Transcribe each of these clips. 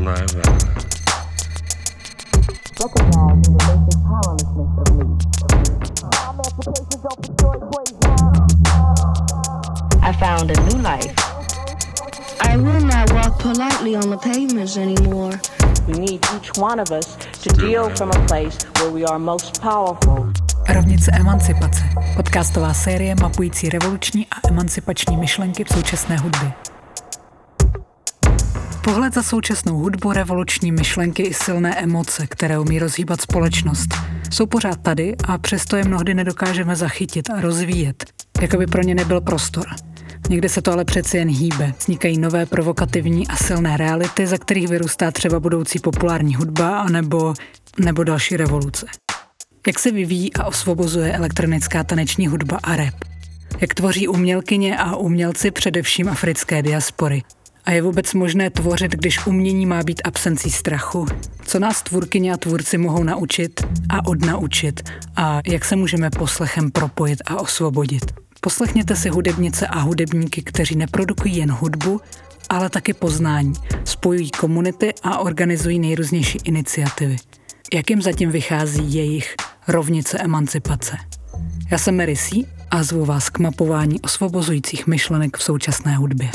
never. Recognizing the basic powerlessness of me. Emancipation don't destroy praise. I found a new life. I will not walk politely on the pavements anymore. We need each one of us to deal from a place where we are most powerful. Rovnice emancipace. Podcastová série mapující revoluční a emancipační myšlenky v současné hudbě. Pohled za současnou hudbu, revoluční myšlenky i silné emoce, které umí rozhýbat společnost, jsou pořád tady a přesto je mnohdy nedokážeme zachytit a rozvíjet, jako by pro ně nebyl prostor. Někde se to ale přeci jen hýbe. Vznikají nové provokativní a silné reality, za kterých vyrůstá třeba budoucí populární hudba nebo další revoluce. Jak se vyvíjí a osvobozuje elektronická taneční hudba a rap? Jak tvoří umělkyně a umělci především africké diaspory? A je vůbec možné tvořit, když umění má být absencí strachu? Co nás tvůrkyně a tvůrci mohou naučit a odnaučit? A jak se můžeme poslechem propojit a osvobodit? Poslechněte si hudebnice a hudebníky, kteří neprodukují jen hudbu, ale taky poznání, spojují komunity a organizují nejrůznější iniciativy. Jak jim zatím vychází jejich rovnice emancipace? Já jsem Mary C. a zvu vás k mapování osvobozujících myšlenek v současné hudbě.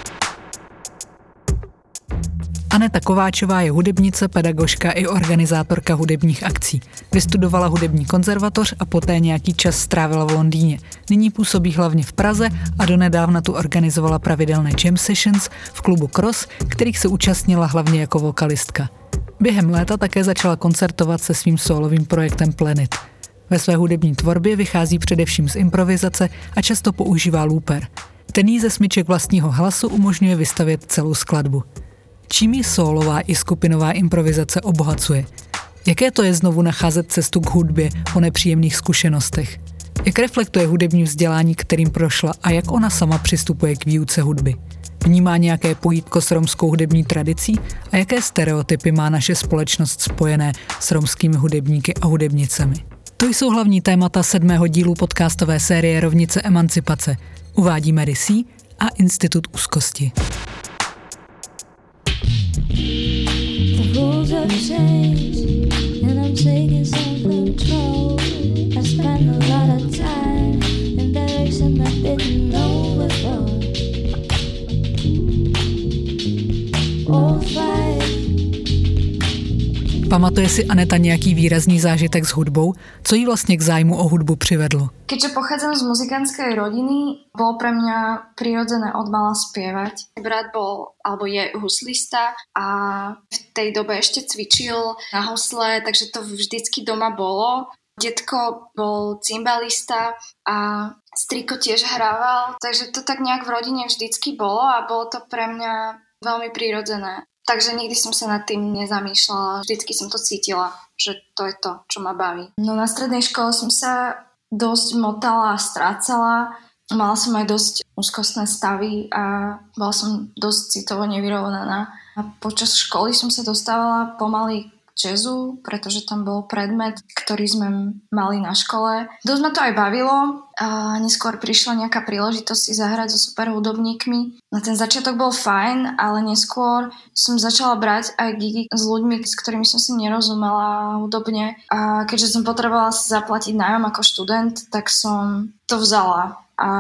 Aneta Kováčová je hudebnice, pedagožka i organizátorka hudebních akcí. Vystudovala hudební konzervatoř a poté nějaký čas strávila v Londýně. Nyní působí hlavně v Praze a donedávna tu organizovala pravidelné jam sessions v klubu Cross, kterých se účastnila hlavně jako vokalistka. Během léta také začala koncertovat se svým sólovým projektem Planet. Ve své hudební tvorbě vychází především z improvizace a často používá looper. Ten jí ze smyček vlastního hlasu umožňuje vystavět celou skladbu. Čím ji sólová i skupinová improvizace obohacuje? Jaké to je znovu nacházet cestu k hudbě po nepříjemných zkušenostech? Jak reflektuje hudební vzdělání, kterým prošla a jak ona sama přistupuje k výuce hudby? Vnímá nějaké pojítko s romskou hudební tradicí a jaké stereotypy má naše společnost spojené s romskými hudebníky a hudebnicemi? To jsou hlavní témata 7. dílu podcastové série Rovnice emancipace. Uvádí Mary C. a Institut úzkosti. The rules have changed and I'm taking some control. I spend a lot of time in direction I didn't know before. All five. Pamatuje si Aneta nějaký výrazný zážitek s hudbou? Co jí vlastně k zájmu o hudbu přivedlo? Keďže pochádzam z muzikánskej rodiny, bolo pre mňa prirodzené od mala spievať. Brat bol, alebo je huslista a v tej dobe ešte cvičil na husle, takže to vždycky doma bolo. Detko bol cymbalista a striko tiež hrával, takže to tak nejak v rodine vždycky bolo a bolo to pre mňa veľmi prirodzené. Takže nikdy som sa nad tým nezamýšľala, vždycky som to cítila, že to je to, čo ma baví. No na strednej škole som sa dosť motala a strácala. Mala som aj dosť úzkostné stavy a bola som dosť citovo nevyrovnaná. A počas školy som sa dostávala pomaly k jazzu, pretože tam bol predmet, ktorý sme mali na škole. Dosť ma to aj bavilo a neskôr prišla nejaká príležitosť si zahrať so super hudobníkmi. Na ten začiatok bol fajn, ale neskôr som začala brať aj gigy s ľuďmi, s ktorými som si nerozumela hudobne. A keďže som potrebovala si zaplatiť nájom ako študent, tak som to vzala.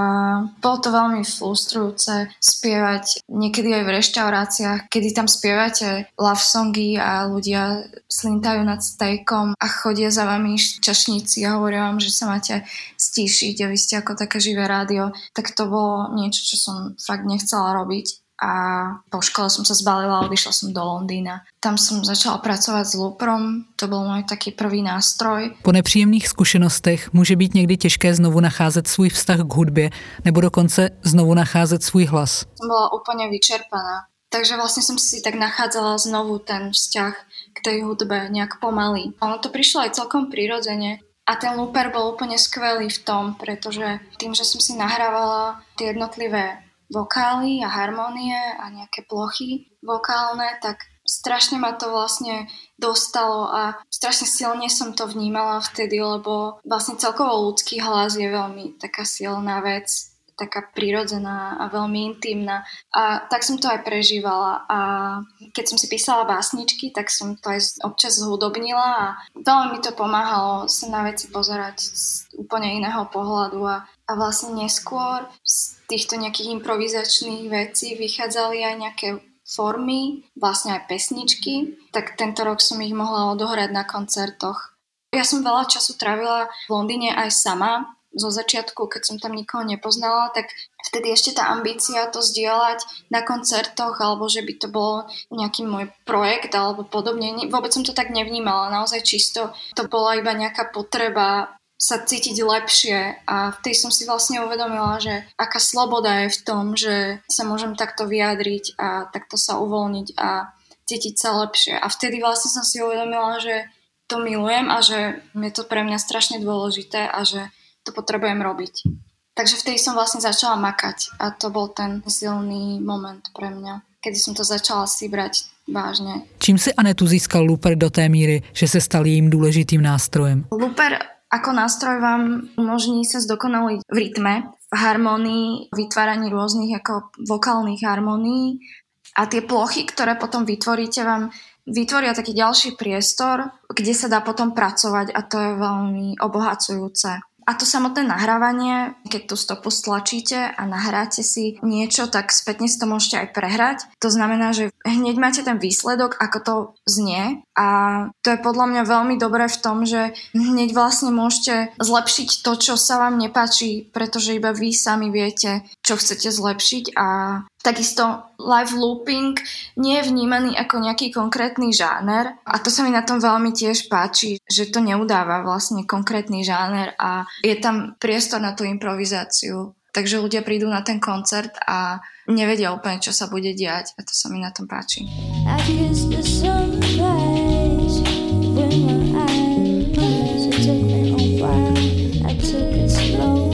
A bolo to veľmi frustrujúce spievať niekedy aj v reštauráciách, kedy tam spievate love songy a ľudia slintajú nad stejkom a chodia za vami čašníci a hovoria vám, že sa máte stíšiť a vy ste ako také živé rádio. Tak to bolo niečo, čo som fakt nechcela robiť. A po škole som sa zbalila a odišla som do Londýna. Tam som začala pracovať s looprom, to byl můj taký prvý nástroj. Po nepříjemných zkušenostech může být někdy těžké znovu nacházet svůj vztah k hudbě nebo dokonce znovu nacházet svůj hlas. Som bola úplne vyčerpaná, takže vlastne som si tak nachádzala znovu ten vzťah k tej hudbe nejak pomaly. Ono to prišlo aj celkom prirodzene. A ten looper bol úplne skvelý v tom, pretože tým, že som si nahrávala tie jednotlivé vokály a harmonie a nejaké plochy vokálne, tak strašne ma to vlastne dostalo a strašne silne som to vnímala vtedy, lebo vlastne celkovo ľudský hlas je veľmi taká silná vec, taká prirodzená a veľmi intimná. A tak som to aj prežívala. A keď som si písala básničky, tak som to aj občas zhudobnila a veľmi mi to pomáhalo sa na veci pozerať z úplne iného pohľadu. A vlastne neskôr z týchto nejakých improvizačných vecí vychádzali aj nejaké formy, vlastne aj pesničky. Tak tento rok som ich mohla odohrať na koncertoch. Ja som veľa času trávila v Londýne aj sama. Zo začiatku, keď som tam nikoho nepoznala, tak vtedy ešte tá ambícia to zdieľať na koncertoch, alebo že by to bol nejaký môj projekt alebo podobne. Vôbec som to tak nevnímala, naozaj čisto. To bola iba nejaká potreba sa cítiť lepšie a vtedy som si vlastne uvedomila, že aká sloboda je v tom, že sa môžem takto vyjadriť a takto sa uvoľniť a cítiť sa lepšie. A vtedy vlastne som si uvedomila, že to milujem a že je to pre mňa strašne dôležité a že to potrebujem robiť. Takže vtedy som vlastne začala makať a to bol ten silný moment pre mňa, kedy som to začala si brať vážne. Čím si Anetu získal Looper do té míry, že se stal jejím důležitým nástrojem? Looper ako nástroj vám umožní sa zdokonaliť v rytme, v harmonii, vytváraní rôznych ako vokálnych harmonií a tie plochy, ktoré potom vytvoríte, vám vytvoria taký ďalší priestor, kde sa dá potom pracovať a to je veľmi obohacujúce. A to samotné nahrávanie, keď tú stopu stlačíte a nahráte si niečo, tak spätne si to môžete aj prehrať. To znamená, že hneď máte ten výsledok, ako to znie a to je podľa mňa veľmi dobré v tom, že hneď vlastne môžete zlepšiť to, čo sa vám nepáči, pretože iba vy sami viete, čo chcete zlepšiť a takisto live looping nie je vnímaný ako nejaký konkrétny žáner a to sa mi na tom veľmi tiež páči, že to neudáva vlastne konkrétny žáner a je tam priestor na tú improvizáciu. Takže ľudia prídu na ten koncert a nevedia úplne, čo sa bude diať a to sa mi na tom páči. I kissed the sunrise with my eyes. It took me a while. I took it slow.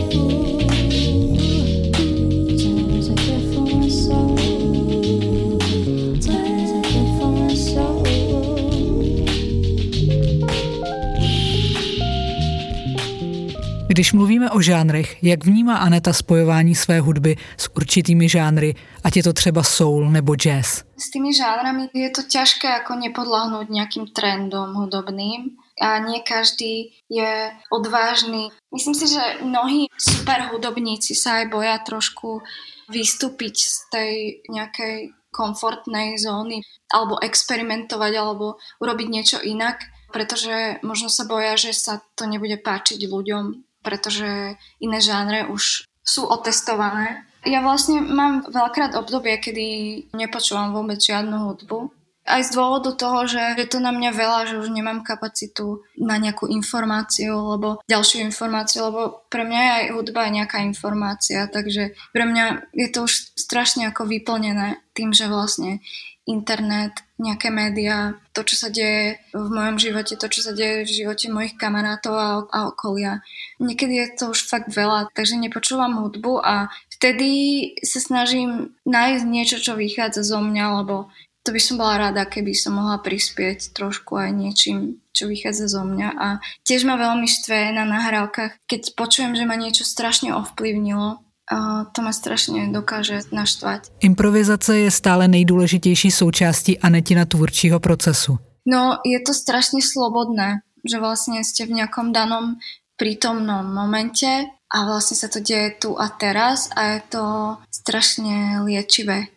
Když mluvíme o žánrech, jak vnímá Aneta spojování své hudby s určitými žánry, ať je to třeba soul nebo jazz? S tými žánrami je to ťažké ako nepodľahnúť nejakým trendom hudobným a nie každý je odvážny. Myslím si, že mnohí super hudobníci sa aj boja trošku vystúpiť z tej nejakej komfortnej zóny alebo experimentovať alebo urobiť niečo inak, pretože možno sa boja, že sa to nebude páčiť ľuďom, pretože iné žánre už sú otestované. Ja vlastne mám veľakrát obdobie, kedy nepočúvam vôbec žiadnu hudbu. Aj z dôvodu toho, že je to na mňa veľa, že už nemám kapacitu na nejakú informáciu, alebo ďalšiu informáciu, lebo pre mňa je aj hudba nejaká informácia, takže pre mňa je to už strašne ako vyplnené tým, že vlastne internet, nejaké médiá, to, čo sa deje v mojom živote, to, čo sa deje v živote mojich kamarátov a okolia. Niekedy je to už fakt veľa, takže nepočúvam hudbu a vtedy sa snažím nájsť niečo, čo vychádza zo mňa, lebo to by som bola rada, keby som mohla prispieť trošku aj niečím, čo vychádza zo mňa. A tiež ma veľmi štve na nahrávkach, keď počujem, že ma niečo strašne ovplyvnilo. A to ma strašně dokáže naštvať. Improvizace je stále nejdůležitější součástí Anetina tvůrčího procesu. No, je to strašne slobodné, že vlastne ste v nejakom danom prítomnom momente a vlastne sa to deje tu a teraz a je to strašne liečivé.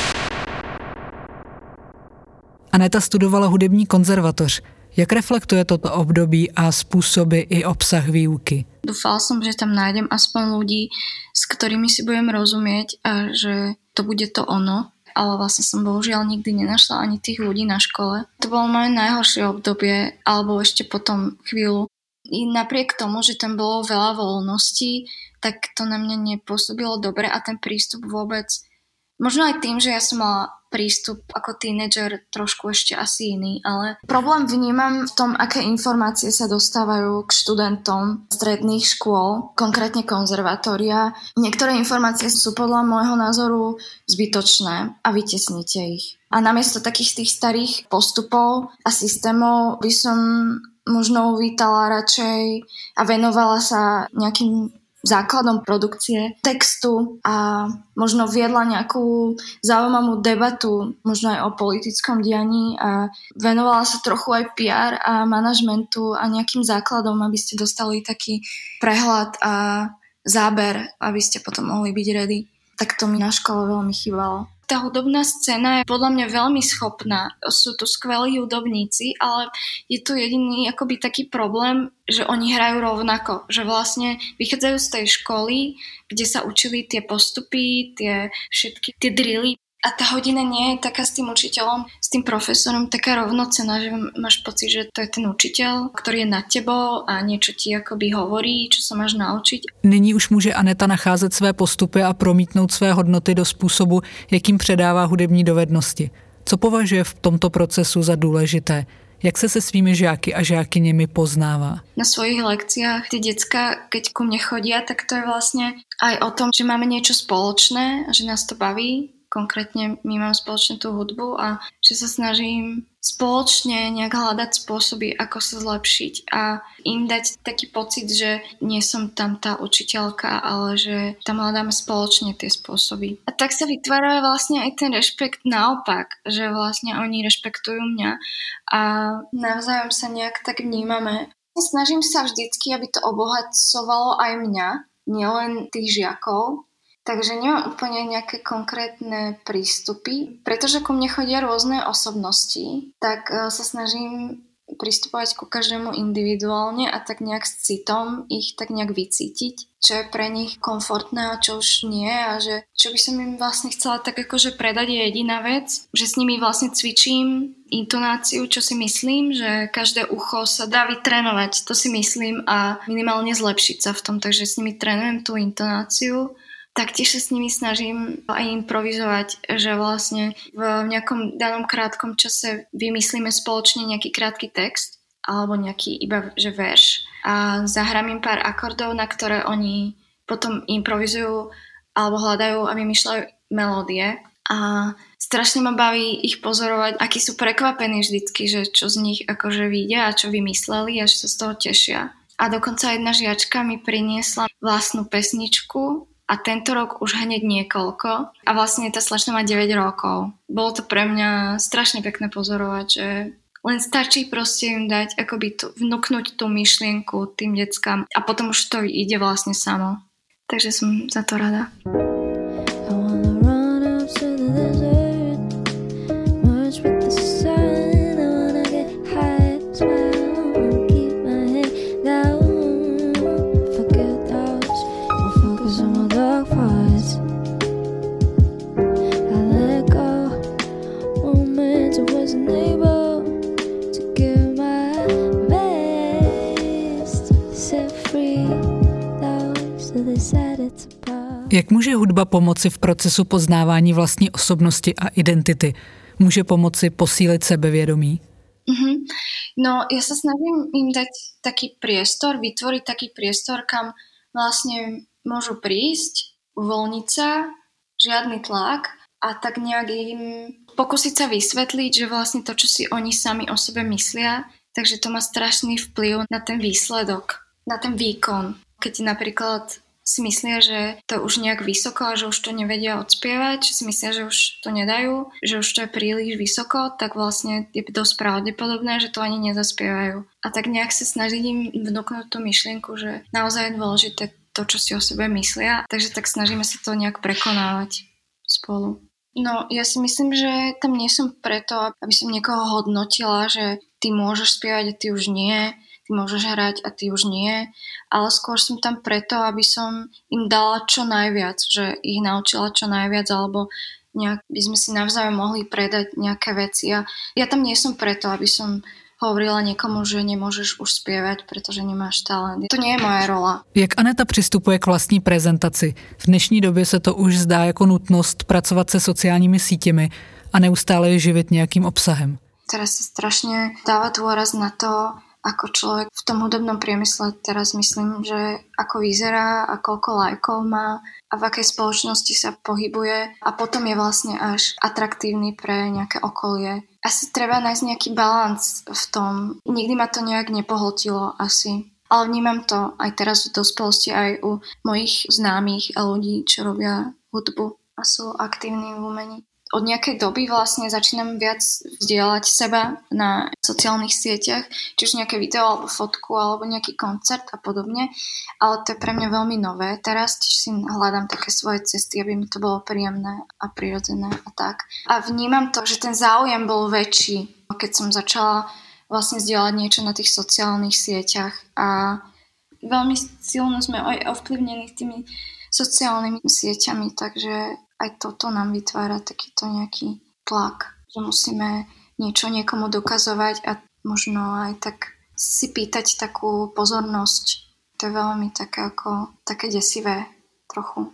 Aneta studovala hudební konzervatoř. Jak reflektuje toto období a způsoby i obsah výuky? Dúfala som, že tam nájdem aspoň ľudí, s ktorými si budem rozumieť a že to bude to ono. Ale vlastne som bohužiaľ nikdy nenašla ani tých ľudí na škole. To bolo moje najhoršie obdobie, alebo ešte potom chvíľu. I napriek tomu, že tam bolo veľa voľností, tak to na mňa nepôsobilo dobre a ten prístup vôbec. Možno aj tým, že ja som mala prístup ako tínedžer trošku ešte asi iný, ale problém vnímam v tom, aké informácie sa dostávajú k študentom stredných škôl, konkrétne konzervatória. Niektoré informácie sú podľa môjho názoru zbytočné a vytesnite ich. A namiesto takých tých starých postupov a systémov by som možno uvítala radšej a venovala sa nejakým základom produkcie textu a možno viedla nejakú zaujímavú debatu, možno aj o politickom dianí a venovala sa trochu aj PR a manažmentu a nejakým základom, aby ste dostali taký prehľad a záber, aby ste potom mohli byť ready. Tak to mi na škole veľmi chýbalo. Tá hudobná scéna je podľa mňa veľmi schopná. Sú tu skvelí hudobníci, ale je tu jediný akoby taký problém, že oni hrajú rovnako. Že vlastne vychádzajú z tej školy, kde sa učili tie postupy, tie všetky tie drily. A tá hodina nie je taká s tým učiteľom, s tým profesorom taká rovnocenná, že máš pocit, že to je ten učiteľ, ktorý je nad tebou a niečo ti akoby hovorí, čo sa máš naučiť. Nyní už může Aneta nacházet své postupy a promítnout své hodnoty do způsobu, jakým předává hudební dovednosti. Co považuje v tomto procesu za důležité? Jak se svými žáky a žákyněmi poznává? Na svojich lekciách tie decká, keď ku mne chodia, tak to je vlastne aj o tom, že máme niečo spoločné a že nás to baví. Konkrétne my máme spoločne tú hudbu a že sa snažím spoločne nejak hľadať spôsoby, ako sa zlepšiť a im dať taký pocit, že nie som tam tá učiteľka, ale že tam hľadáme spoločne tie spôsoby. A tak sa vytvára vlastne aj ten rešpekt naopak, že vlastne oni rešpektujú mňa a navzájom sa nejak tak vnímame. Snažím sa vždycky, aby to obohacovalo aj mňa, nielen tých žiakov. Takže nemám úplne nejaké konkrétne prístupy. Pretože ku mne chodia rôzne osobnosti, tak sa snažím pristupovať ku každému individuálne a tak nejak s citom ich tak nejak vycítiť, čo je pre nich komfortné a čo už nie a že čo by som im vlastne chcela tak akože predať je jediná vec, že s nimi vlastne cvičím intonáciu, čo si myslím, že každé ucho sa dá vytrénovať, to si myslím a minimálne zlepšiť sa v tom, takže s nimi trénujem tú intonáciu. Taktiež sa s nimi snažím aj improvizovať, že vlastne v nejakom danom krátkom čase vymyslíme spoločne nejaký krátky text alebo nejaký iba že verš a zahrám im pár akordov, na ktoré oni potom improvizujú alebo hľadajú a vymýšľajú melódie a strašne ma baví ich pozorovať, akí sú prekvapení vždycky, že čo z nich akože vyjde a čo vymysleli a že sa z toho tešia. A dokonca jedna žiačka mi priniesla vlastnú pesničku a tento rok už hneď niekoľko. A vlastne tá slečna má 9 rokov. Bolo to pre mňa strašne pekné pozorovať, že len stačí proste im dať, akoby vnúknuť tú myšlienku tým deckám a potom už to ide vlastne samo. Takže som za to rada. Jak může hudba pomoci v procesu poznávání vlastní osobnosti a identity? Může pomoci posílit sebevědomí? No, ja sa snažím im dať taký priestor, vytvoriť taký priestor, kam vlastne môžu prísť, uvoľniť sa, žiadny tlak a tak nejak im pokúsiť sa vysvetliť, že vlastne to, čo si oni sami o sebe myslia, takže to má strašný vplyv na ten výsledok, na ten výkon. Keď napríklad si myslia, že to už nejak vysoko a že už to nevedia odspievať, že si myslia, že už to nedajú, že už to je príliš vysoko, tak vlastne je dosť pravdepodobné, že to ani nezaspievajú. A tak nejak sa snažím im vnúknuť tú myšlienku, že naozaj je dôležité to, čo si o sebe myslia, takže tak snažíme sa to nejak prekonávať spolu. No, ja si myslím, že tam nie som preto, aby som niekoho hodnotila, že ty môžeš spievať a ty už nie, ty môžeš hrať a ty už nie, ale skôr som tam preto, aby som im dala čo najviac, že ich naučila čo najviac, alebo nejak by sme si navzájom mohli predať nejaké veci. A ja tam nie som preto, aby som hovorila niekomu, že nemôžeš už spievať, pretože nemáš talent. To nie je moja rola. Jak Aneta přistupuje k vlastní prezentaci? V dnešní době se to už zdá jako nutnost pracovat se sociálními sítěmi a neustále je živit nějakým obsahem. Teraz sa strašne dáva dôraz na to, ako človek v tom hudobnom priemysle teraz myslím, že ako vyzerá a koľko lajkov má a v akej spoločnosti sa pohybuje a potom je vlastne až atraktívny pre nejaké okolie. Asi treba nájsť nejaký balans v tom. Nikdy ma to nejak nepohltilo asi. Ale vnímam to aj teraz v dospelosti, aj u mojich známych a ľudí, čo robia hudbu a sú aktívni v umení. Od nejakej doby vlastne začínam viac vzdielať seba na sociálnych sieťach, či už nejaké video alebo fotku alebo nejaký koncert a podobne, ale to je pre mňa veľmi nové. Teraz tiež si hľadám také svoje cesty, aby mi to bolo príjemné a prirodzené a tak. A vnímam to, že ten záujem bol väčší, keď som začala vlastne zdieľať niečo na tých sociálnych sieťach a veľmi silno sme aj ovplyvnení tými sociálnymi sieťami, takže aj toto nám vytvára takýto nejaký tlak, že musíme niečo niekomu dokazovať a možno aj tak si pýtať takú pozornosť. To je veľmi také desivé trochu.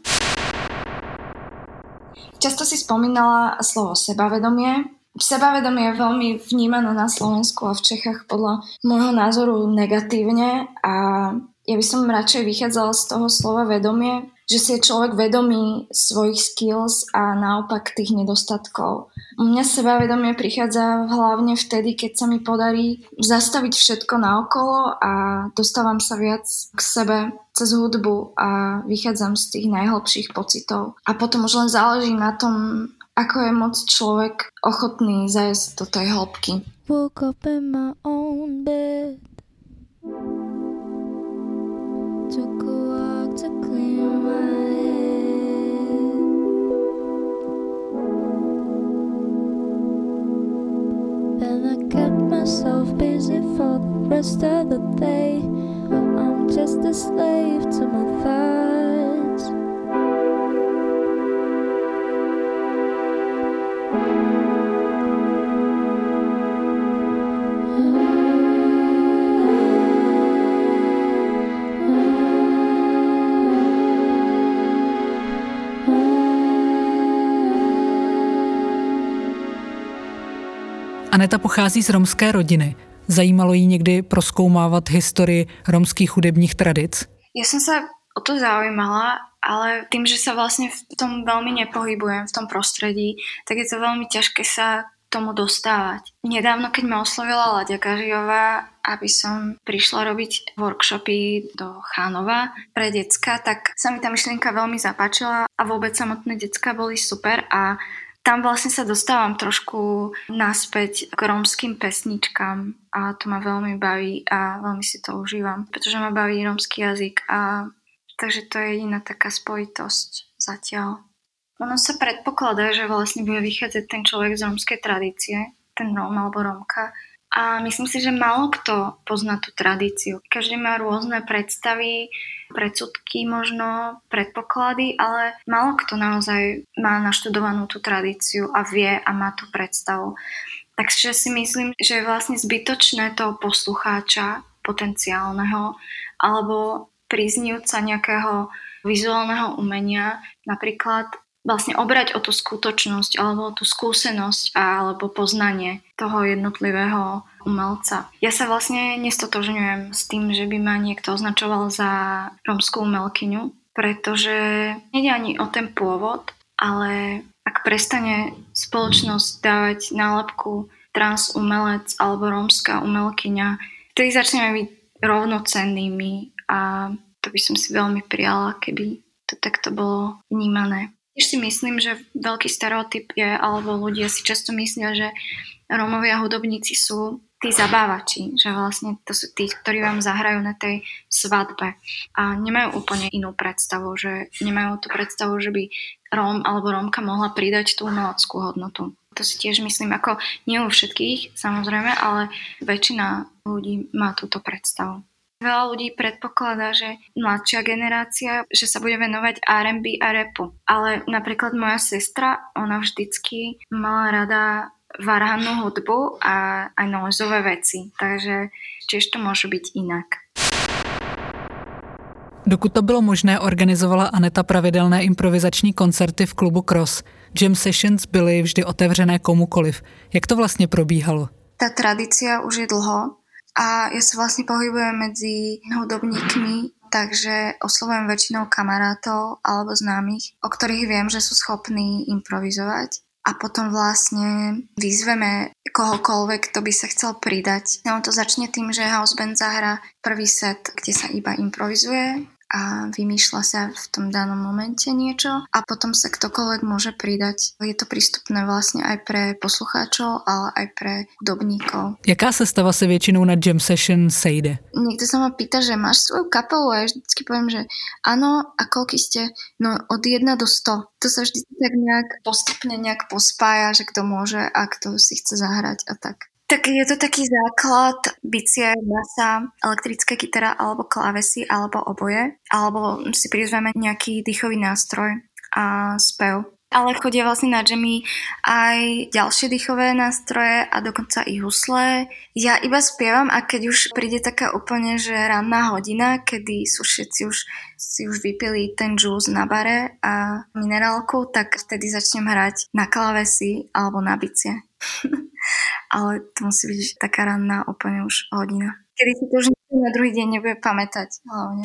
Často si spomínala slovo sebavedomie. Sebavedomie je veľmi vnímané na Slovensku a v Čechách podľa môjho názoru negatívne a ja by som radšej vychádzala z toho slova vedomie, že si je človek vedomý svojich skills a naopak tých nedostatkov. U mňa sebavedomie prichádza hlavne vtedy, keď sa mi podarí zastaviť všetko naokolo a dostávam sa viac k sebe cez hudbu a vychádzam z tých najhlbších pocitov. A potom už len záleží na tom, ako je moc človek ochotný zajsť do tej hĺbky. Woke up in my own bed. Took a walk to clear my head. Then I kept myself busy for the rest of the day. I'm just a slave to my thoughts. Aneta pochází z romské rodiny. Zajímalo jí někdy prozkoumávat historii romských hudebních tradic? Ja som sa o to zaujímala, ale tým, že sa vlastne v tom veľmi nepohybujem, v tom prostredí, tak je to veľmi ťažké sa tomu dostávať. Nedávno, keď ma oslovila Láďa Gažiová, aby som prišla robiť workshopy do Chánova pre decka, tak sa mi tá myšlienka veľmi zapáčila a vôbec samotné decka boli super a tam vlastne sa dostávam trošku naspäť k rómskym pesničkám a to ma veľmi baví a veľmi si to užívam, pretože ma baví rómsky jazyk a takže to je jediná taká spojitosť zatiaľ. Ono sa predpokladá, že vlastne bude vychádzať ten človek z rómskej tradície, ten Róm alebo Rómka a myslím si, že málo kto pozná tú tradíciu. Každý má rôzne predstavy, predsudky možno, predpoklady, ale málo kto naozaj má naštudovanú tú tradíciu a vie a má tú predstavu. Takže si myslím, že je vlastne zbytočné toho poslucháča potenciálneho alebo príznivca nejakého vizuálneho umenia napríklad vlastne obrať o tú skutočnosť alebo o tú skúsenosť alebo poznanie toho jednotlivého umelca. Ja sa vlastne nestotožňujem s tým, že by ma niekto označoval za rómskú umelkyňu, pretože nejde ani o ten pôvod, ale ak prestane spoločnosť dávať nálepku trans umelec alebo rómska umelkyňa, vtedy začneme byť rovnocennými a to by som si veľmi prijala, keby to takto bolo vnímané. Tiež si myslím, že veľký stereotyp je, alebo ľudia si často myslia, že Rómovia hudobníci sú tí zabávači, že vlastne to sú tí, ktorí vám zahrajú na tej svadbe a nemajú úplne inú predstavu, že nemajú tú predstavu, že by Róm alebo Rómka mohla pridať tú umeleckú hodnotu. To si tiež myslím, ako nie u všetkých, samozrejme, ale väčšina ľudí má túto predstavu. Veľa ľudí predpokladá, že mladšia generácia, že sa bude venovať R&B a rapu. Ale napríklad moja sestra, ona vždycky mala rada varhannú hudbu a aj noizové veci. Takže tiež to môže byť inak. Dokud to bylo možné, organizovala Aneta pravidelné improvizační koncerty v klubu Cross. Jam sessions byly vždy otevřené komukoliv. Jak to vlastně probíhalo? Tá tradícia už je dlho. A ja sa vlastne pohybujem medzi hudobníkmi, takže oslovujem väčšinou kamarátov alebo známych, o ktorých viem, že sú schopní improvizovať. a potom vlastne vyzveme kohokoľvek, kto by sa chcel pridať. No to začne tým, že house band zahrá prvý set, kde sa iba improvizuje a vymýšľa sa v tom danom momente niečo a potom sa ktokoľvek môže pridať. Je to prístupné vlastne aj pre poslucháčov, ale aj pre hudobníkov. Jaká sestava se většinou na jam session sejde? Niekto sa ma pýta, že máš svoju kapelu a ja vždycky poviem, že áno, a koľky ste? No od 1 do 100. To sa vždy tak nejak postupne nejak pospája, že kto môže a kto si chce zahrať a tak. Tak je to taký základ, bicie, basa, elektrická kytara alebo klávesy alebo oboje. Alebo si prizveme nejaký dýchový nástroj a spev. Ale chodia vlastne na jammy aj ďalšie dýchové nástroje a dokonca i husle. Ja iba spievam a keď už príde taká úplne, že ranná hodina, kedy sú všetci si už vypili ten džús na bare a minerálku, tak vtedy začnem hrať na klávesy alebo na bicie. Ale to musí byť taká ranná úplne už hodina. Kedy si to už na druhý deň nebude pamätať hlavne.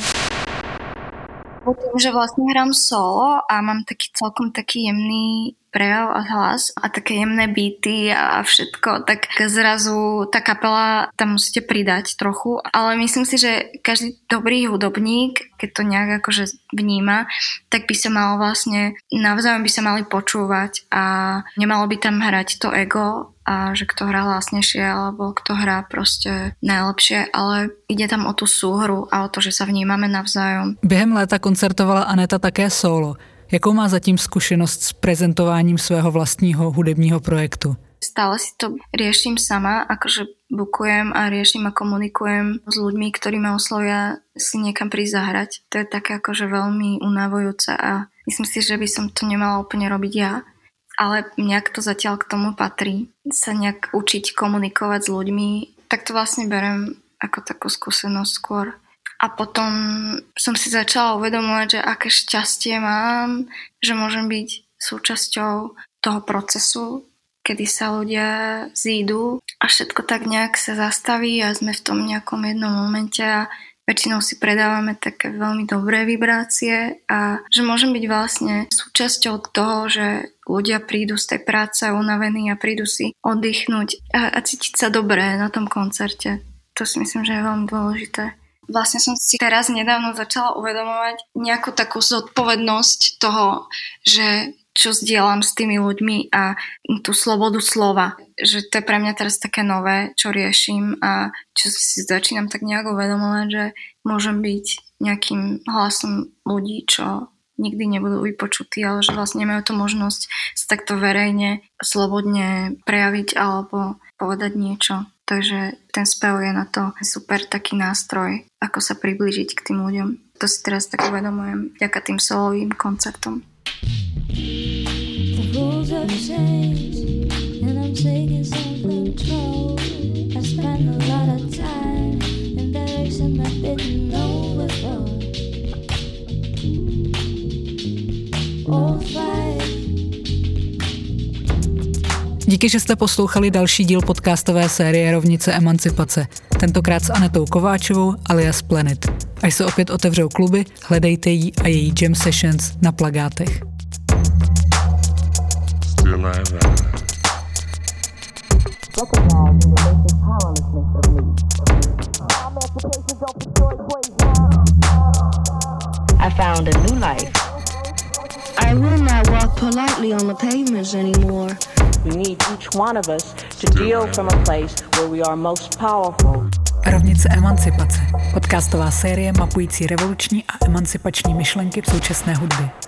Tým, že vlastne hrám solo a mám celkom taký jemný prejav a hlas a také jemné beaty a všetko, tak zrazu tá kapela tam musíte pridať trochu, ale myslím si, že každý dobrý hudobník, keď to nejak akože vníma, tak by sa mal vlastne, navzájom by sa mali počúvať a nemalo by tam hrať to ego a že kto hrá hlasnejšie alebo kto hrá proste najlepšie, ale ide tam o tú súhru a o to, že sa vnímame navzájom. Během léta koncertovala Aneta také solo. Jakou má zatím zkušenost s prezentováním svého vlastního hudebního projektu? Stále si to riešim sama, akože bukujem a riešim a komunikujem s ľuďmi, ktorí ma oslovia si niekam prísť zahrať. To je také akože veľmi unavujúce a myslím si, že by som to nemala úplne robiť ja. Ale nejak to zatiaľ k tomu patrí. Sa nejak učiť komunikovať s ľuďmi, tak to vlastne berem ako takú skúsenosť skôr. A potom som si začala uvedomovať, že aké šťastie mám, že môžem byť súčasťou toho procesu, kedy sa ľudia zídu a všetko tak nejak sa zastaví a sme v tom nejakom jednom momente a väčšinou si predávame také veľmi dobré vibrácie a že môžem byť vlastne súčasťou toho, že ľudia prídu z tej práce unavení a prídu si oddychnúť a cítiť sa dobre na tom koncerte. To si myslím, že je veľmi dôležité. Vlastne som si teraz nedávno začala uvedomovať nejakú takú zodpovednosť toho, že čo zdieľam s tými ľuďmi a tú slobodu slova. Že to je pre mňa teraz také nové, čo riešim a čo si začínam tak nejak uvedomovať, že môžem byť nejakým hlasom ľudí, čo nikdy nebudú vypočutí, ale že vlastne nemajú tú možnosť sa takto verejne, slobodne prejaviť alebo povedať niečo. Takže ten spev je na to super taký nástroj, ako sa priblížiť k tým ľuďom. To si teraz tak uvedomujem vďaka tým solovým koncertom. The rules have changed and I'm taking some control. I spend a lot of time in direction I didn't know before. All five. Díky, že jste poslouchali další díl podcastové série Rovnice emancipace. Tentokrát s Anetou Kováčovou alias Planet. Až se opět otevřou kluby, hledejte jí a její jam sessions na plakátech. I found a new life. I will not walk politely on the pavements anymore. We need each one of us to deal from a place where we are most powerful. Rovnice emancipace. Podcastová série mapující revoluční a emancipační myšlenky v současné hudbě.